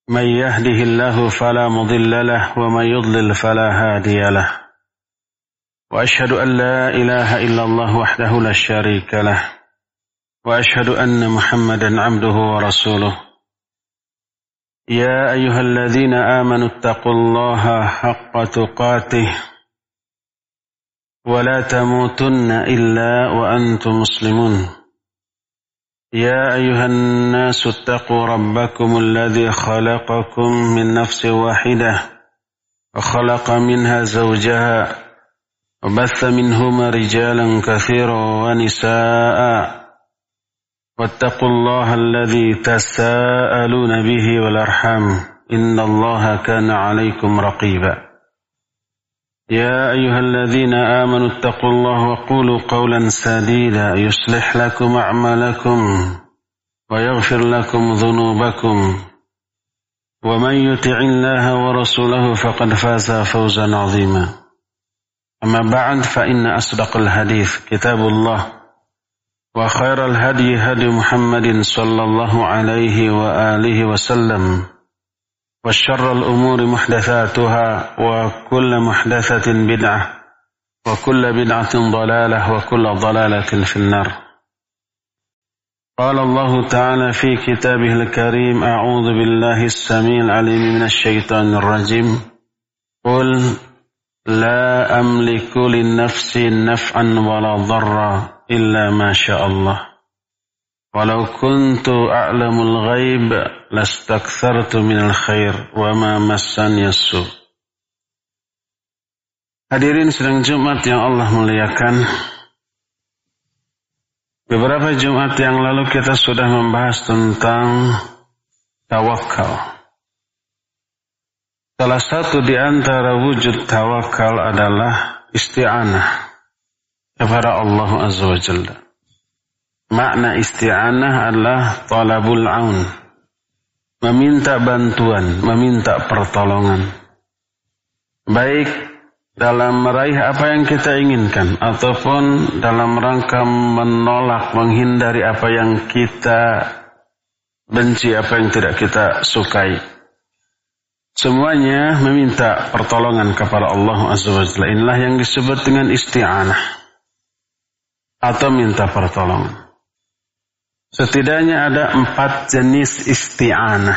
من يهده الله فلا مضل له ومن يضلل فلا هادي له وأشهد أن لا إله إلا الله وحده لا شريك له وأشهد أن محمدا عبده ورسوله يا أيها الذين آمنوا اتقوا الله حق تقاته ولا تموتن إلا وأنتم مسلمون يا أيها الناس اتقوا ربكم الذي خلقكم من نفس واحدة وخلق منها زوجها وبث منهما رجالا كثيرا ونساء واتقوا الله الذي تساءلون به والأرحام إن الله كان عليكم رقيبا يا أيها الذين آمنوا اتقوا الله وقولوا قولا سديدا يصلح لكم أعمالكم ويغفر لكم ذنوبكم ومن يطع الله ورسوله فقد فاز فوزا عظيما أما بعد فإن أصدق الحديث كتاب الله وخير الهدي هدي محمد صلى الله عليه وآله وسلم وشر الأمور محدثاتها وكل محدثة بدعة وكل بدعة ضلالة وكل ضلالة في النار. قال الله تعالى في كتابه الكريم أعوذ بالله السميع العليم من الشيطان الرجيم قل لا أملك لنفسي نفعا ولا ضرا إلا ما شاء الله ولو كنت أعلم الغيب لاستكثرت من الخير وما مسني السوء. Hadirin sidang Jumat yang Allah muliakan, beberapa Jumat yang lalu kita sudah membahas tentang tawakal. Salah satu di antara wujud tawakal adalah isti'anah kepada Allah Azza wa Jalla. Makna isti'anah adalah talabul aun, meminta bantuan, meminta pertolongan. Baik dalam meraih apa yang kita inginkan ataupun dalam rangka menolak, menghindari apa yang kita benci, apa yang tidak kita sukai. Semuanya meminta pertolongan kepada Allah Azza wa Jalla. Inilah yang disebut dengan isti'anah atau minta pertolongan. Setidaknya ada 4 jenis isti'anah.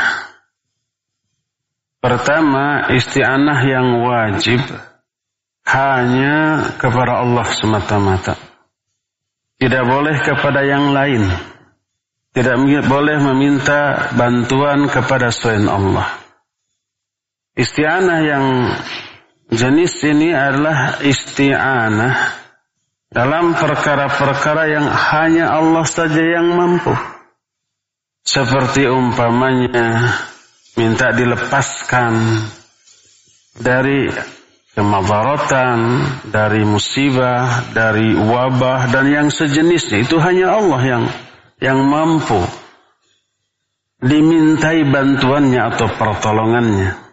Pertama, isti'anah yang wajib hanya kepada Allah semata-mata. Tidak boleh kepada yang lain. Tidak boleh meminta bantuan kepada selain Allah. Isti'anah yang jenis ini adalah isti'anah dalam perkara-perkara yang hanya Allah saja yang mampu. Seperti umpamanya minta dilepaskan dari kemadaratan, dari musibah, dari wabah dan yang sejenisnya. Itu hanya Allah yang mampu dimintai bantuannya atau pertolongannya.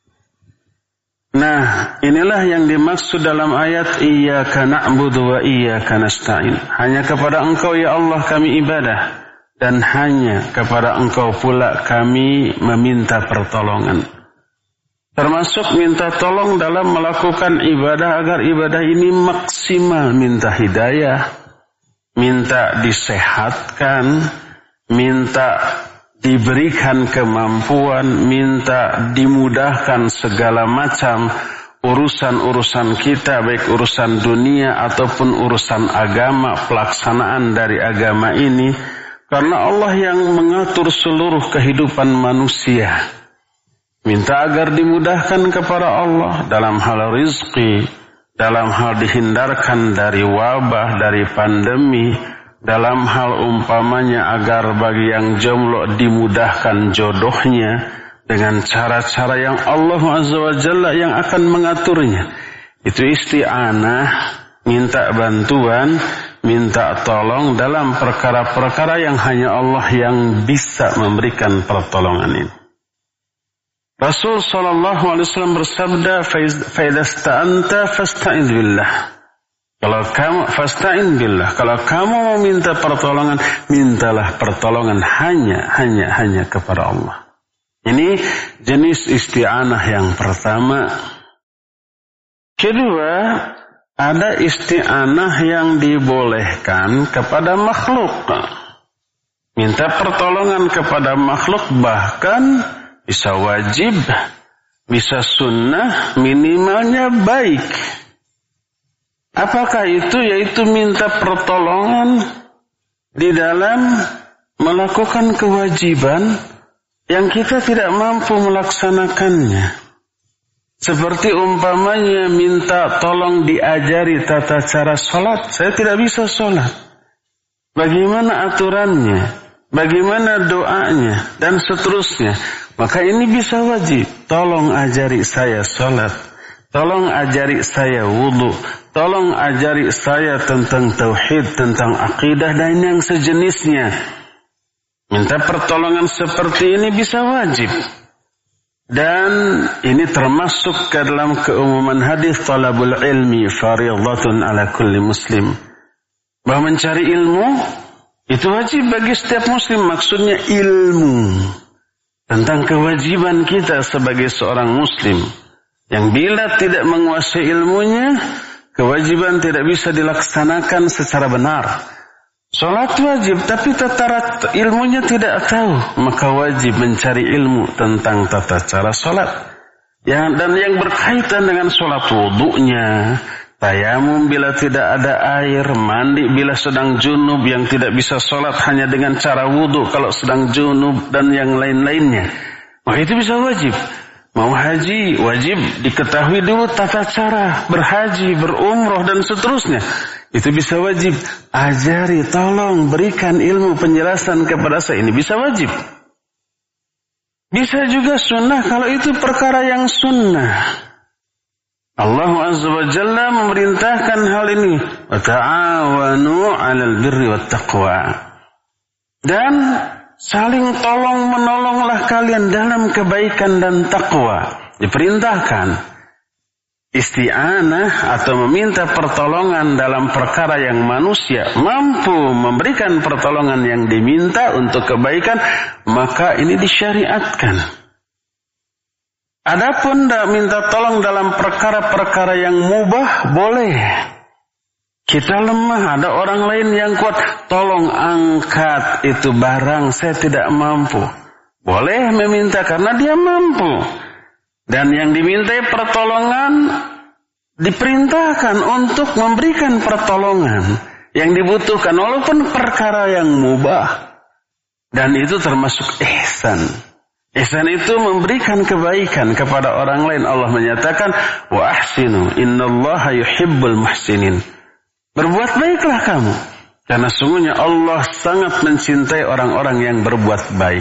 Nah, inilah yang dimaksud dalam ayat Iyyaka na'budu wa iyyaka nasta'in. Hanya kepada Engkau ya Allah kami ibadah dan hanya kepada Engkau pula kami meminta pertolongan. Termasuk minta tolong dalam melakukan ibadah agar ibadah ini maksimal, minta hidayah, minta disehatkan, minta diberikan kemampuan, minta dimudahkan segala macam urusan-urusan kita, baik urusan dunia ataupun urusan agama, pelaksanaan dari agama ini, karena Allah yang mengatur seluruh kehidupan manusia. Minta agar dimudahkan kepada Allah dalam hal rizki, dalam hal dihindarkan dari wabah, dari pandemi, dalam hal umpamanya agar bagi yang jomblo dimudahkan jodohnya dengan cara-cara yang Allah Azza wa Jalla yang akan mengaturnya. Itu isti'anah, minta bantuan, minta tolong dalam perkara-perkara yang hanya Allah yang bisa memberikan pertolongan ini. Rasul SAW bersabda, "Faidasta'anta fasta'iz billah." Kalau kamu fasta'in billah, kalau kamu mau minta pertolongan, mintalah pertolongan hanya kepada Allah. Ini jenis isti'anah yang pertama. Kedua, ada isti'anah yang dibolehkan kepada makhluk. Minta pertolongan kepada makhluk bahkan bisa wajib, bisa sunnah, minimalnya baik. Apakah itu? Yaitu minta pertolongan di dalam melakukan kewajiban yang kita tidak mampu melaksanakannya. Seperti umpamanya minta tolong diajari tata cara sholat. Saya tidak bisa sholat. Bagaimana aturannya? Bagaimana doanya? Dan seterusnya. Maka ini bisa wajib. Tolong ajari saya sholat. Tolong ajari saya wudu. Tolong ajari saya tentang tauhid, tentang akidah dan yang sejenisnya. Minta pertolongan seperti ini bisa wajib. Dan ini termasuk ke dalam keumuman hadis talabul ilmi fardhatun ala kulli muslim. Bahwa mencari ilmu itu wajib bagi setiap muslim. Maksudnya ilmu tentang kewajiban kita sebagai seorang muslim. Yang bila tidak menguasai ilmunya, kewajiban tidak bisa dilaksanakan secara benar. Sholat wajib, tapi tata ilmunya tidak tahu. Maka wajib mencari ilmu tentang tata cara sholat. Dan yang berkaitan dengan sholat wudunya, tayamum bila tidak ada air, mandi bila sedang junub yang tidak bisa sholat hanya dengan cara wudu kalau sedang junub dan yang lain-lainnya. Maka itu bisa wajib. Mau haji, wajib diketahui dulu tata cara berhaji, berumroh dan seterusnya. Itu bisa wajib. Ajari, tolong berikan ilmu penjelasan kepada saya. Ini bisa wajib. Bisa juga sunnah kalau itu perkara yang sunnah. Allah Azza wa Jalla memerintahkan hal ini. Wa ta'awanu 'alal birri wat taqwa. Dan saling tolong menolonglah kalian dalam kebaikan dan takwa. Diperintahkan. Isti'anah atau meminta pertolongan dalam perkara yang manusia mampu memberikan pertolongan yang diminta untuk kebaikan, maka ini disyariatkan. Adapun minta tolong dalam perkara-perkara yang mubah boleh. Kita lemah, ada orang lain yang kuat, tolong angkat itu barang, saya tidak mampu. Boleh meminta karena dia mampu. Dan yang dimintai pertolongan diperintahkan untuk memberikan pertolongan yang dibutuhkan walaupun perkara yang mubah. Dan itu termasuk ihsan. Ihsan itu memberikan kebaikan kepada orang lain. Allah menyatakan, wa ahsinu innallaha yuhibbul muhsinin. Berbuat baiklah kamu, karena sungguhnya Allah sangat mencintai orang-orang yang berbuat baik.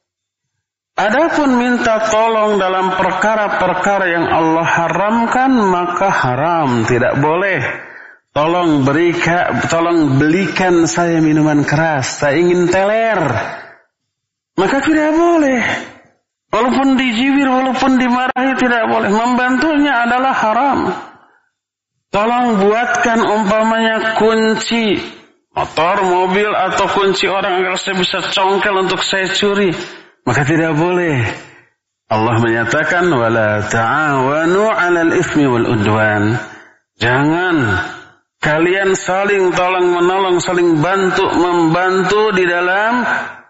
Adapun minta tolong dalam perkara-perkara yang Allah haramkan, maka haram, tidak boleh. Tolong belikan saya minuman keras, saya ingin teler. Maka tidak boleh. Walaupun dijibir, walaupun dimarahi, tidak boleh. Membantunya adalah haram. Tolong buatkan umpamanya kunci motor, mobil, atau kunci orang agar saya bisa congkel untuk saya curi. Maka tidak boleh. Allah menyatakan, wala ta'awanu 'alal itsmi wal udwan. Jangan kalian saling tolong menolong, saling membantu di dalam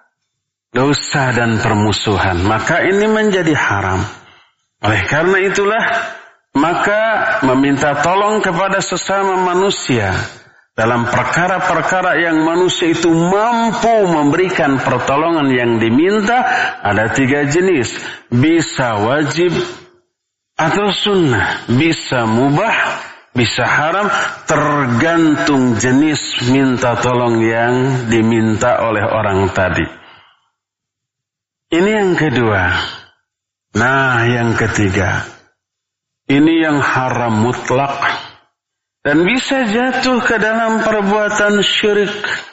dosa dan permusuhan. Maka ini menjadi haram. Oleh karena itulah, maka meminta tolong kepada sesama manusia dalam perkara-perkara yang manusia itu mampu memberikan pertolongan yang diminta, ada 3 jenis. Bisa wajib atau sunnah. Bisa mubah, bisa haram. Tergantung jenis minta tolong yang diminta oleh orang tadi. Ini yang kedua. Nah, yang ketiga. Ini yang haram mutlak. Dan bisa jatuh ke dalam perbuatan syirik.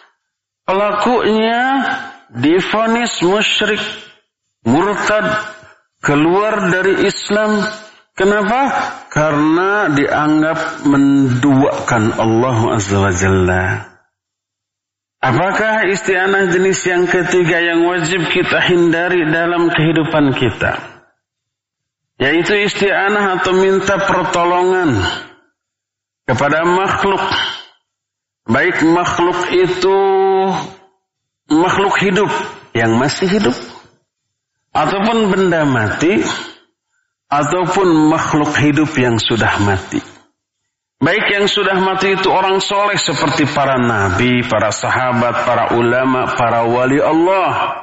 Pelakunya divonis musyrik, murtad, keluar dari Islam. Kenapa? Karena dianggap menduakan Allah Azza wa Jalla. Apakah isti'anah jenis yang ketiga yang wajib kita hindari dalam kehidupan kita? Yaitu isti'anah atau minta pertolongan kepada makhluk. Baik makhluk itu makhluk hidup yang masih hidup, ataupun benda mati, ataupun makhluk hidup yang sudah mati. Baik yang sudah mati itu orang soleh seperti para nabi, para sahabat, para ulama, para wali Allah.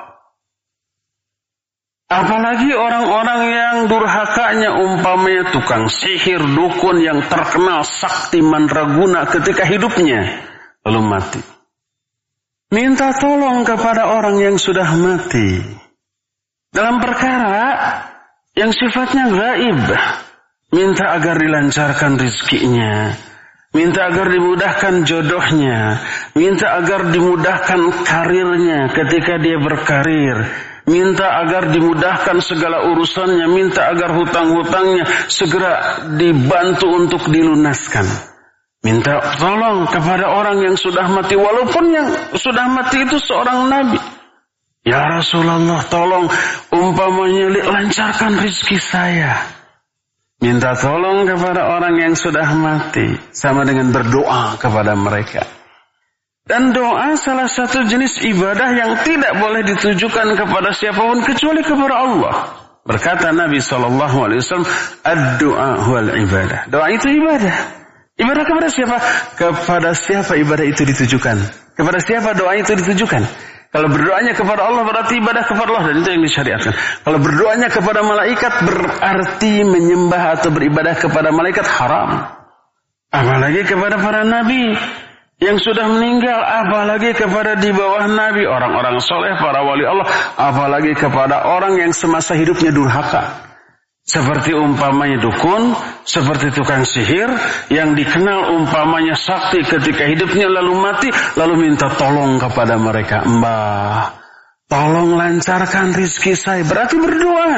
Apalagi orang-orang yang durhakanya umpamanya tukang sihir, dukun yang terkenal sakti mandraguna ketika hidupnya, lalu mati. Minta tolong kepada orang yang sudah mati dalam perkara yang sifatnya gaib. Minta agar dilancarkan rezekinya, minta agar dimudahkan jodohnya, minta agar dimudahkan karirnya ketika dia berkarir, minta agar dimudahkan segala urusannya, minta agar hutang-hutangnya segera dibantu untuk dilunaskan. Minta tolong kepada orang yang sudah mati, walaupun yang sudah mati itu seorang nabi. Ya Rasulullah, tolong umpamanya lancarkan rezeki saya. Minta tolong kepada orang yang sudah mati, sama dengan berdoa kepada mereka. Dan doa salah satu jenis ibadah yang tidak boleh ditujukan kepada siapapun kecuali kepada Allah. Berkata Nabi SAW, ad-doa huwal ibadah. Doa itu ibadah. Ibadah kepada siapa? Kepada siapa ibadah itu ditujukan? Kepada siapa doa itu ditujukan? Kalau berdoanya kepada Allah berarti ibadah kepada Allah, dan itu yang disyariatkan. Kalau berdoanya kepada malaikat berarti menyembah atau beribadah kepada malaikat, haram. Apalagi kepada para nabi yang sudah meninggal, apalagi kepada di bawah nabi, orang-orang soleh, para wali Allah, apalagi kepada orang yang semasa hidupnya durhaka. Seperti umpamanya dukun, seperti tukang sihir, yang dikenal umpamanya sakti ketika hidupnya lalu mati, lalu minta tolong kepada mereka. Mbah, tolong lancarkan rizki saya. Berarti berdoa.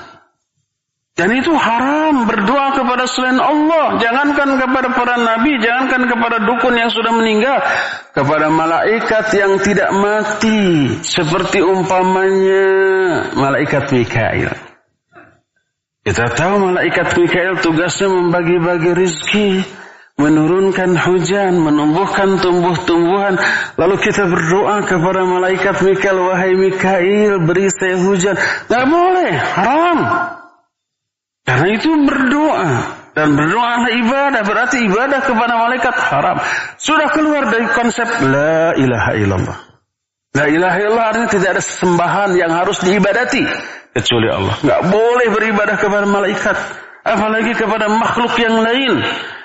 Dan itu haram, berdoa kepada selain Allah. Jangankan kepada para nabi, jangankan kepada dukun yang sudah meninggal. Kepada malaikat yang tidak mati. Seperti umpamanya malaikat Mikail. Kita tahu malaikat Mikail tugasnya membagi-bagi rizki, menurunkan hujan, menumbuhkan tumbuh-tumbuhan. Lalu kita berdoa kepada malaikat Mikail, wahai Mikail, beri saya hujan. Tidak boleh, haram. Karena itu berdoa. Dan berdoa adalah ibadah, berarti ibadah kepada malaikat haram. Sudah keluar dari konsep la ilaha illallah. La ilaha illallah artinya tidak ada sesembahan yang harus diibadati kecuali Allah. Enggak boleh beribadah kepada malaikat, apalagi kepada makhluk yang lain.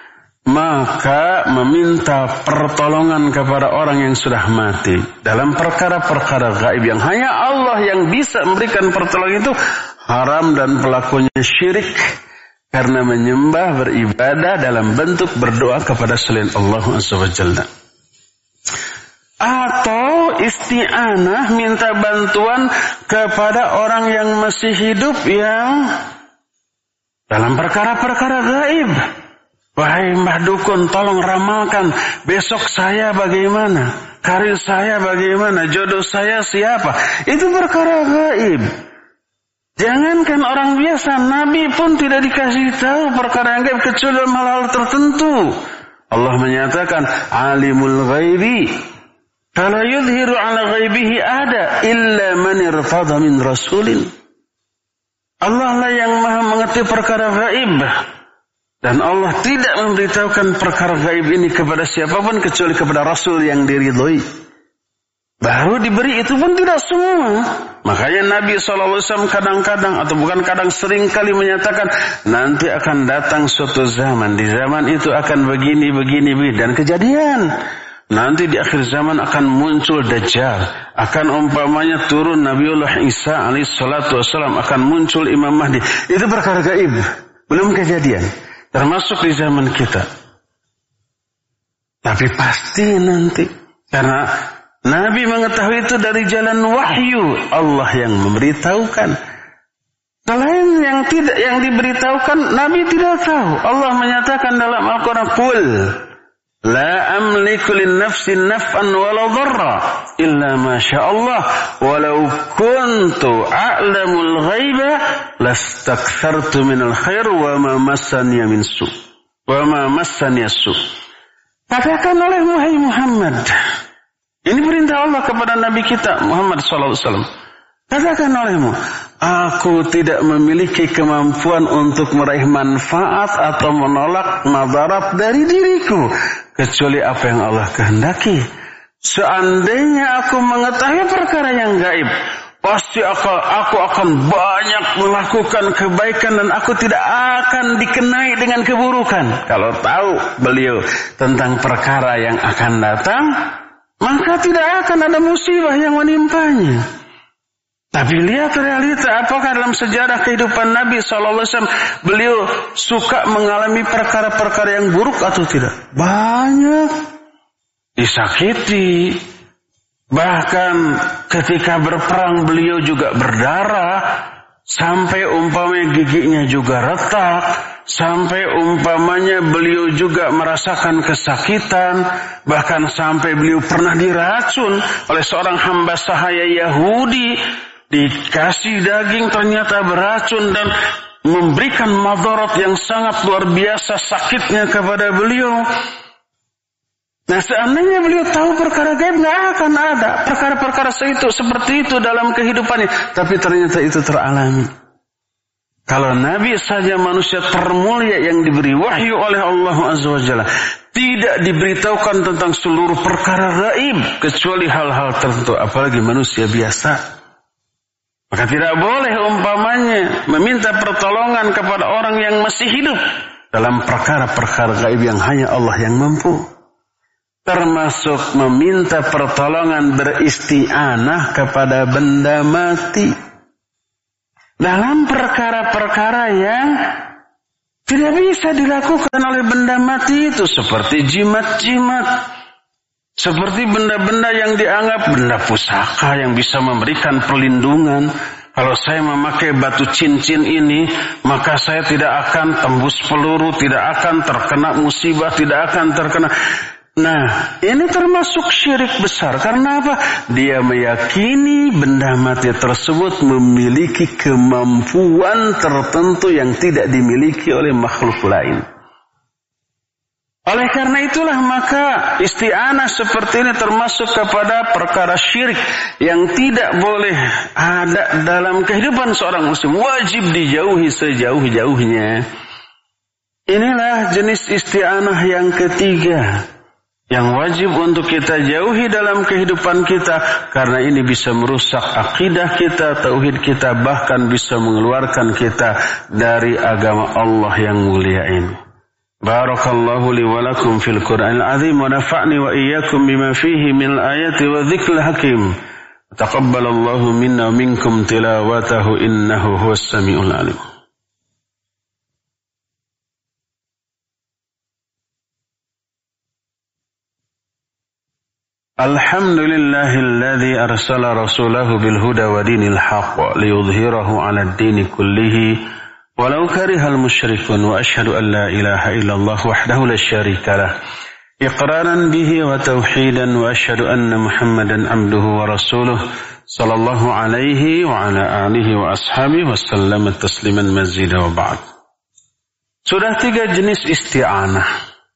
Maka meminta pertolongan kepada orang yang sudah mati dalam perkara-perkara gaib yang hanya Allah yang bisa memberikan pertolongan itu haram, dan pelakunya syirik karena menyembah, beribadah dalam bentuk berdoa kepada selain Allah Azza wa Jalla. Atau isti'anah, minta bantuan kepada orang yang masih hidup yang dalam perkara-perkara gaib. Wahai Mbah Dukun, tolong ramalkan besok saya bagaimana, karir saya bagaimana, jodoh saya siapa. Itu perkara gaib. Jangankan orang biasa, Nabi pun tidak dikasih tahu perkara yang gaib kecuali dalam hal-hal tertentu. Allah menyatakan alimul ghaibi fala yudhiru ala ghaibihi ada illa man irtada min rasulin. Allah lah yang maha mengerti perkara gaib, dan Allah tidak memberitahukan perkara gaib ini kepada siapapun kecuali kepada Rasul yang diridhoi. Baru diberi, itu pun tidak semua. Makanya Nabi SAW kadang-kadang, atau bukan kadang, sering kali menyatakan nanti akan datang suatu zaman. Di zaman itu akan begini, dan kejadian. Nanti di akhir zaman akan muncul Dajjal. Akan umpamanya turun Nabiullah Isa alaihissalatu wassalam. Akan muncul Imam Mahdi. Itu perkara gaib, belum kejadian. Termasuk di zaman kita. Tapi pasti nanti. Karena Nabi mengetahui itu dari jalan wahyu. Allah yang memberitahukan. Selain yang diberitahukan, Nabi tidak tahu. Allah menyatakan dalam Al-Quran, Qul La amliku lin nafsi naf'an wala dharra illa ma syaa Allah walau kuntu a'lamul ghaiba lastakthartu minal khair wa ma massani min su wa ma massani su. Katakan oleh Muhammad, ini perintah Allah kepada Nabi kita Muhammad sallallahu alaihi wasallam. Katakan olehmu, aku tidak memiliki kemampuan untuk meraih manfaat atau menolak madarat dari diriku kecuali apa yang Allah kehendaki. Seandainya aku mengetahui perkara yang gaib, pasti aku akan banyak melakukan kebaikan dan aku tidak akan dikenai dengan keburukan. Kalau tahu beliau tentang perkara yang akan datang, maka tidak akan ada musibah yang menimpanya. Tapi lihat realita, apakah dalam sejarah kehidupan Nabi SAW beliau suka mengalami perkara-perkara yang buruk atau tidak? Banyak. Disakiti. Bahkan ketika berperang beliau juga berdarah. Sampai umpamanya giginya juga retak. Sampai umpamanya beliau juga merasakan kesakitan. Bahkan sampai beliau pernah diracun oleh seorang hamba sahaya Yahudi. Dikasih daging ternyata beracun dan memberikan madarat yang sangat luar biasa sakitnya kepada beliau. Nah, seandainya beliau tahu perkara gaib, nggak akan ada perkara-perkara seperti itu dalam kehidupannya. Tapi ternyata itu teralami. Kalau Nabi saja manusia termulia yang diberi wahyu oleh Allah Azza wa Jalla, tidak diberitahukan tentang seluruh perkara gaib kecuali hal-hal tertentu, apalagi manusia biasa. Maka tidak boleh umpamanya meminta pertolongan kepada orang yang masih hidup dalam perkara-perkara gaib yang hanya Allah yang mampu. Termasuk meminta pertolongan beristi'anah kepada benda mati. Dalam perkara-perkara yang tidak bisa dilakukan oleh benda mati itu. Seperti jimat-jimat. Seperti benda-benda yang dianggap benda pusaka yang bisa memberikan perlindungan. Kalau saya memakai batu cincin ini, maka saya tidak akan tembus peluru, tidak akan terkena musibah, tidak akan terkena. Nah, ini termasuk syirik besar. Karena apa? Dia meyakini benda mati tersebut memiliki kemampuan tertentu yang tidak dimiliki oleh makhluk lain. Oleh karena itulah maka isti'anah seperti ini termasuk kepada perkara syirik yang tidak boleh ada dalam kehidupan seorang muslim. Wajib dijauhi sejauh-jauhnya. Inilah jenis isti'anah yang ketiga yang wajib untuk kita jauhi dalam kehidupan kita, karena ini bisa merusak akidah kita, tauhid kita, bahkan bisa mengeluarkan kita dari agama Allah yang mulia ini. Barakallahu li wa lakum fil Qur'anil azim wa nafa'ni wa iyyakum bima fihi min ayati wa dzikril hakim. Taqabbalallahu minna wa minkum tilawatahu innahu huwas samiul alim. Alhamdulillahilladzi arsala rasulahu bil huda wa dinil haqq liyudhhirahu 'alad dini kullihi walau karihal musyrikun wa asyhadu an la ilaha illallah wahdahu la syarika lah iqraran bihi wa tauhidan wa asyhadu anna Muhammadan abduhu wa rasuluh sallallahu alaihi wa ala alihi wa ashabihi wa sallama tasliman mazida wa ba'd. Sudah 3 jenis isti'anah.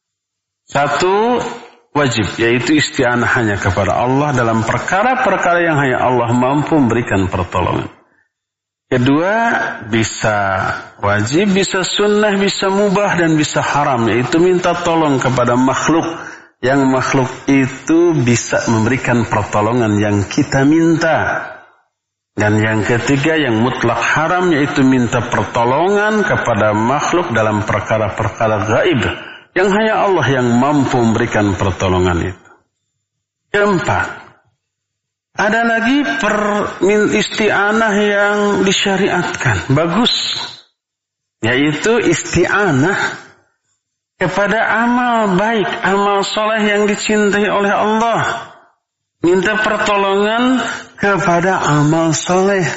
1 wajib, yaitu isti'anah hanya kepada Allah dalam perkara-perkara yang hanya Allah mampu memberikan pertolongan. Kedua, bisa wajib, bisa sunnah, bisa mubah, dan bisa haram, yaitu minta tolong kepada makhluk. Yang makhluk itu bisa memberikan pertolongan yang kita minta. Dan yang ketiga, yang mutlak haram, yaitu minta pertolongan kepada makhluk dalam perkara-perkara gaib yang hanya Allah yang mampu memberikan pertolongan itu. Keempat, ada lagi isti'anah yang disyariatkan. Bagus. Yaitu isti'anah kepada amal baik, amal soleh yang dicintai oleh Allah. Minta pertolongan kepada amal soleh.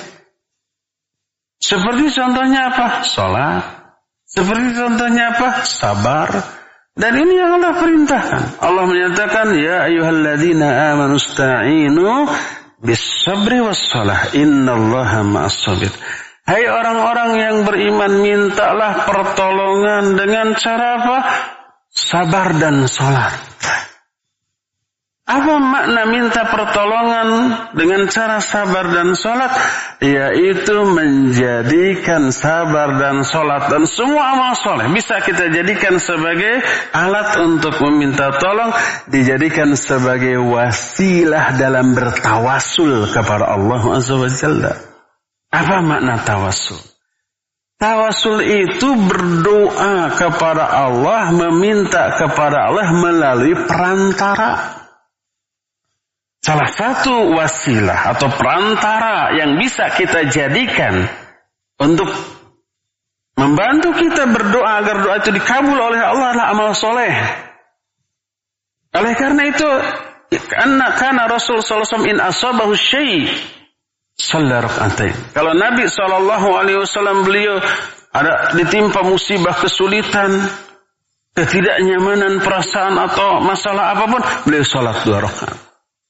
Seperti contohnya apa? Salat. Seperti contohnya apa? Sabar. Dan ini yang Allah perintahkan. Allah menyatakan, ya ayyuhalladzina amanu ista'inu bis-sabri was-salah, innallaha ma'as-sabir. Hai orang-orang yang beriman, mintalah pertolongan dengan cara apa? Sabar dan salat. Apa makna minta pertolongan dengan cara sabar dan salat? Yaitu menjadikan sabar dan salat dan semua amal soleh bisa kita jadikan sebagai alat untuk meminta tolong, dijadikan sebagai wasilah dalam bertawasul kepada Allah Azza wa Jalla. Apa makna tawasul? Tawasul itu berdoa kepada Allah, meminta kepada Allah melalui perantara. Salah satu wasilah atau perantara yang bisa kita jadikan untuk membantu kita berdoa agar doa itu dikabul oleh Allah adalah amal soleh. Oleh karena itu, karena Rasul sallallahu alaihi wasallam in asabahu syai' shalla rak'atain. Kalau Nabi sallallahu alaihi wasallam beliau ada ditimpa musibah, kesulitan, ketidaknyamanan perasaan atau masalah apapun, beliau salat 2 rakaat.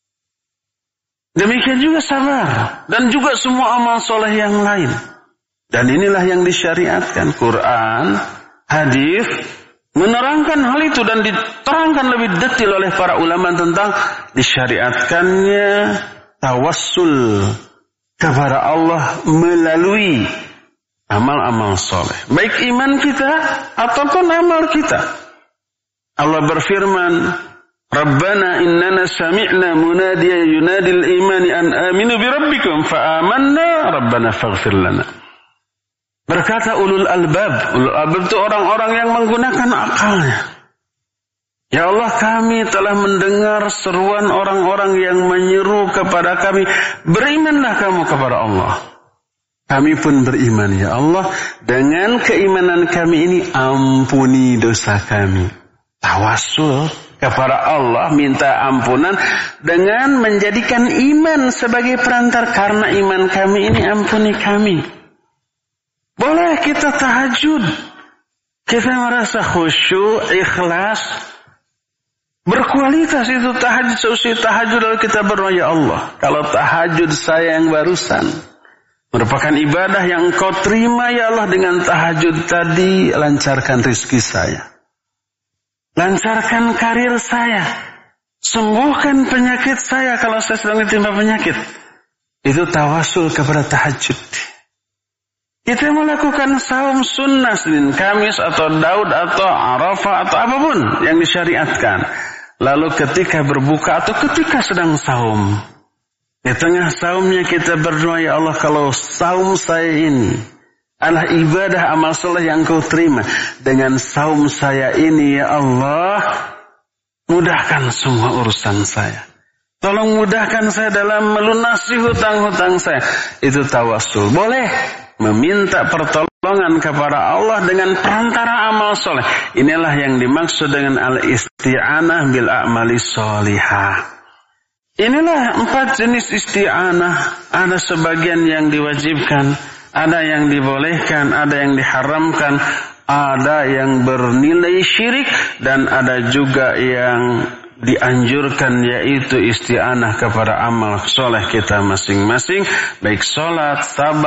Demikian juga sabar dan juga semua amal soleh yang lain. Dan inilah yang disyariatkan. Quran, hadis menerangkan hal itu dan diterangkan lebih detail oleh para ulama tentang disyariatkannya tawassul kepada Allah melalui amal-amal soleh. Baik iman kita ataupun amal kita. Allah berfirman, Rabbana innana sami'na munadiyan yunadil imani an aminu bi rabbikum fa amanna rabbana faghfir lana. Berkata ulul albab itu orang-orang yang menggunakan akalnya. Ya Allah, kami telah mendengar seruan orang-orang yang menyeru kepada kami, berimanlah kamu kepada Allah. Kami pun beriman, ya Allah, dengan keimanan kami ini ampuni dosa kami. Tawasul kepada Allah, minta ampunan dengan menjadikan iman sebagai perantar. Karena iman kami ini, ampuni kami. Boleh kita tahajud, kita merasa khusyuk, ikhlas, berkualitas itu tahajud. Seusai tahajud lalu kita berdoa, ya Allah, kalau tahajud saya yang barusan merupakan ibadah yang Engkau terima, ya Allah, dengan tahajud tadi lancarkan rezeki saya, lancarkan karir saya, sembuhkan penyakit saya kalau saya sedang ditimpa penyakit. Itu tawasul kepada tahajud. Kita melakukan saum sunnah Senin, Kamis atau Daud atau Arafah atau apapun yang disyariatkan. Lalu ketika berbuka atau ketika sedang saum, di tengah saumnya kita berdoa, ya Allah, kalau saum saya ini adalah ibadah amal soleh yang Kau terima, dengan saum saya ini, ya Allah, mudahkan semua urusan saya. Tolong mudahkan saya dalam melunasi hutang-hutang saya. Itu tawasul. Boleh meminta pertolongan kepada Allah dengan perantara amal soleh. Inilah yang dimaksud dengan al-isti'anah bil a'mali sholihah. Inilah 4 jenis isti'anah. Ada sebagian yang diwajibkan, ada yang dibolehkan, ada yang diharamkan, ada yang bernilai syirik, dan ada juga yang dianjurkan, yaitu isti'anah kepada amal soleh kita masing-masing, baik sholat, sabar,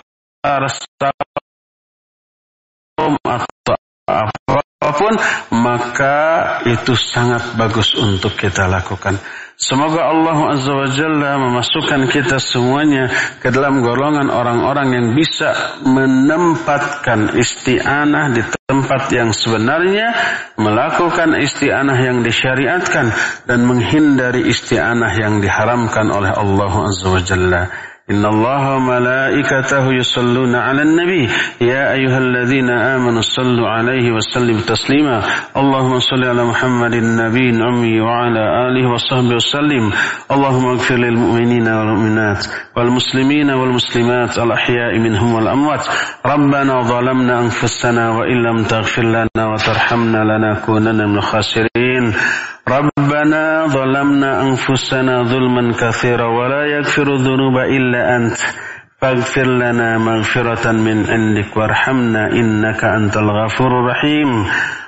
saum atau apapun, maka itu sangat bagus untuk kita lakukan. Semoga Allah Azza wa Jalla memasukkan kita semuanya ke dalam golongan orang-orang yang bisa menempatkan isti'anah di tempat yang sebenarnya, melakukan isti'anah yang disyariatkan, dan menghindari isti'anah yang diharamkan oleh Allah Azza wa Jalla. Inna Allah malaikatahu yusalluna ala nabi ya ayyuhalladzina amanu sallu alaihi wa sallim taslima. Allahumma salli ala Muhammadin nabiyyin ummi wa ala alihi wa sahbihi wasallim. Allahumma ighfir lil mu'minina wal mu'minat wal muslimina wal muslimat al ahya'i minhum wal amwat. Rabbana zalamna anfusana wa illam taghfir lana wa tarhamna lanakunanna minal khasirin. ربنا ظلمنا أنفسنا ظلما كثيرا ولا يغفر الذنوب إلا أنت فاغفر لنا مغفرة من عندك وارحمنا إنك أنت الغفور الرحيم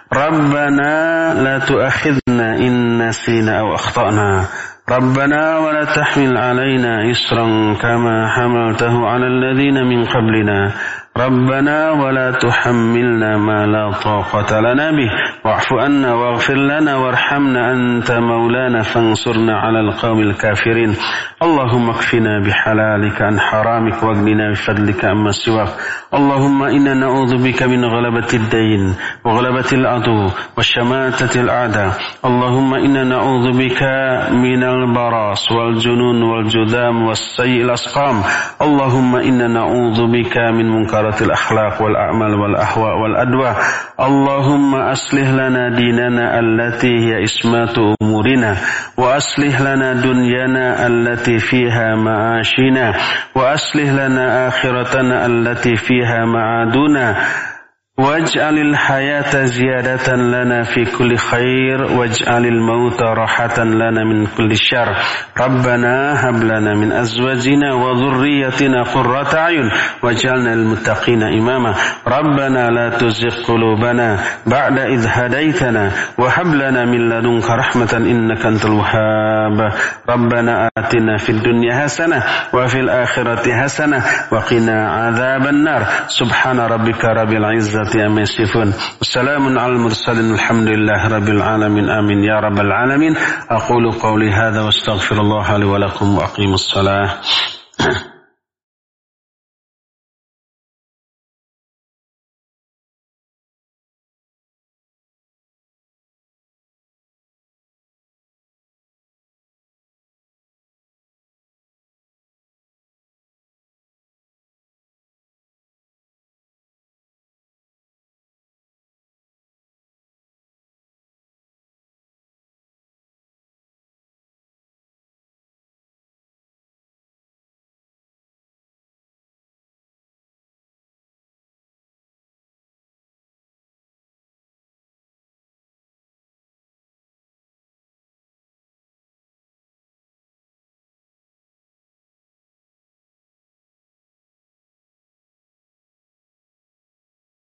ربنا لا تؤاخذنا إن نسينا أو أخطأنا ربنا ولا تحمل علينا إصرا كما حملته على الذين من قبلنا ربنا ولا تحملنا ما لا طاقة لنا به واعف عنا واغفر لنا وارحمنا أنت مولانا فانصرنا على القوم الكافرين اللهم اكفنا بحلالك عن حرامك واغننا بفضلك عما سواك اللهم إنا نعوذ بك من غلبة الدين وغلبة العدو وشماتة الأعداء اللهم إنا نعوذ بك من البراس والجنون والجذام والسيء الأسقام اللهم إنا نعوذ بك من منكرات الأخلاق والأعمال والأهواء والأدواء اللهم أصلح لنا ديننا التي هي عصمة أمورنا وأصلح لنا دنيانا التي فيها معاشنا وأصلح لنا آخرتنا التي فيها معادنا واجعل الحياة زيادة لنا في كل خير واجعل الموت راحة لنا من كل شر ربنا هب لنا من أزواجنا وذريتنا قرة أعين واجعلنا للمتقين إماما ربنا لا تزغ قلوبنا بعد إذ هديتنا وهب لنا من لدنك رحمة إنك أنت الوهاب ربنا آتنا في الدنيا حسنة وفي الآخرة حسنة وقنا عذاب النار سبحان ربك رب العزة أما يصفون والسلام على المرسلين الحمد لله رب العالمين آمين يا رب العالمين أقول قولي هذا واستغفر الله لي ولكم وأقيم الصلاة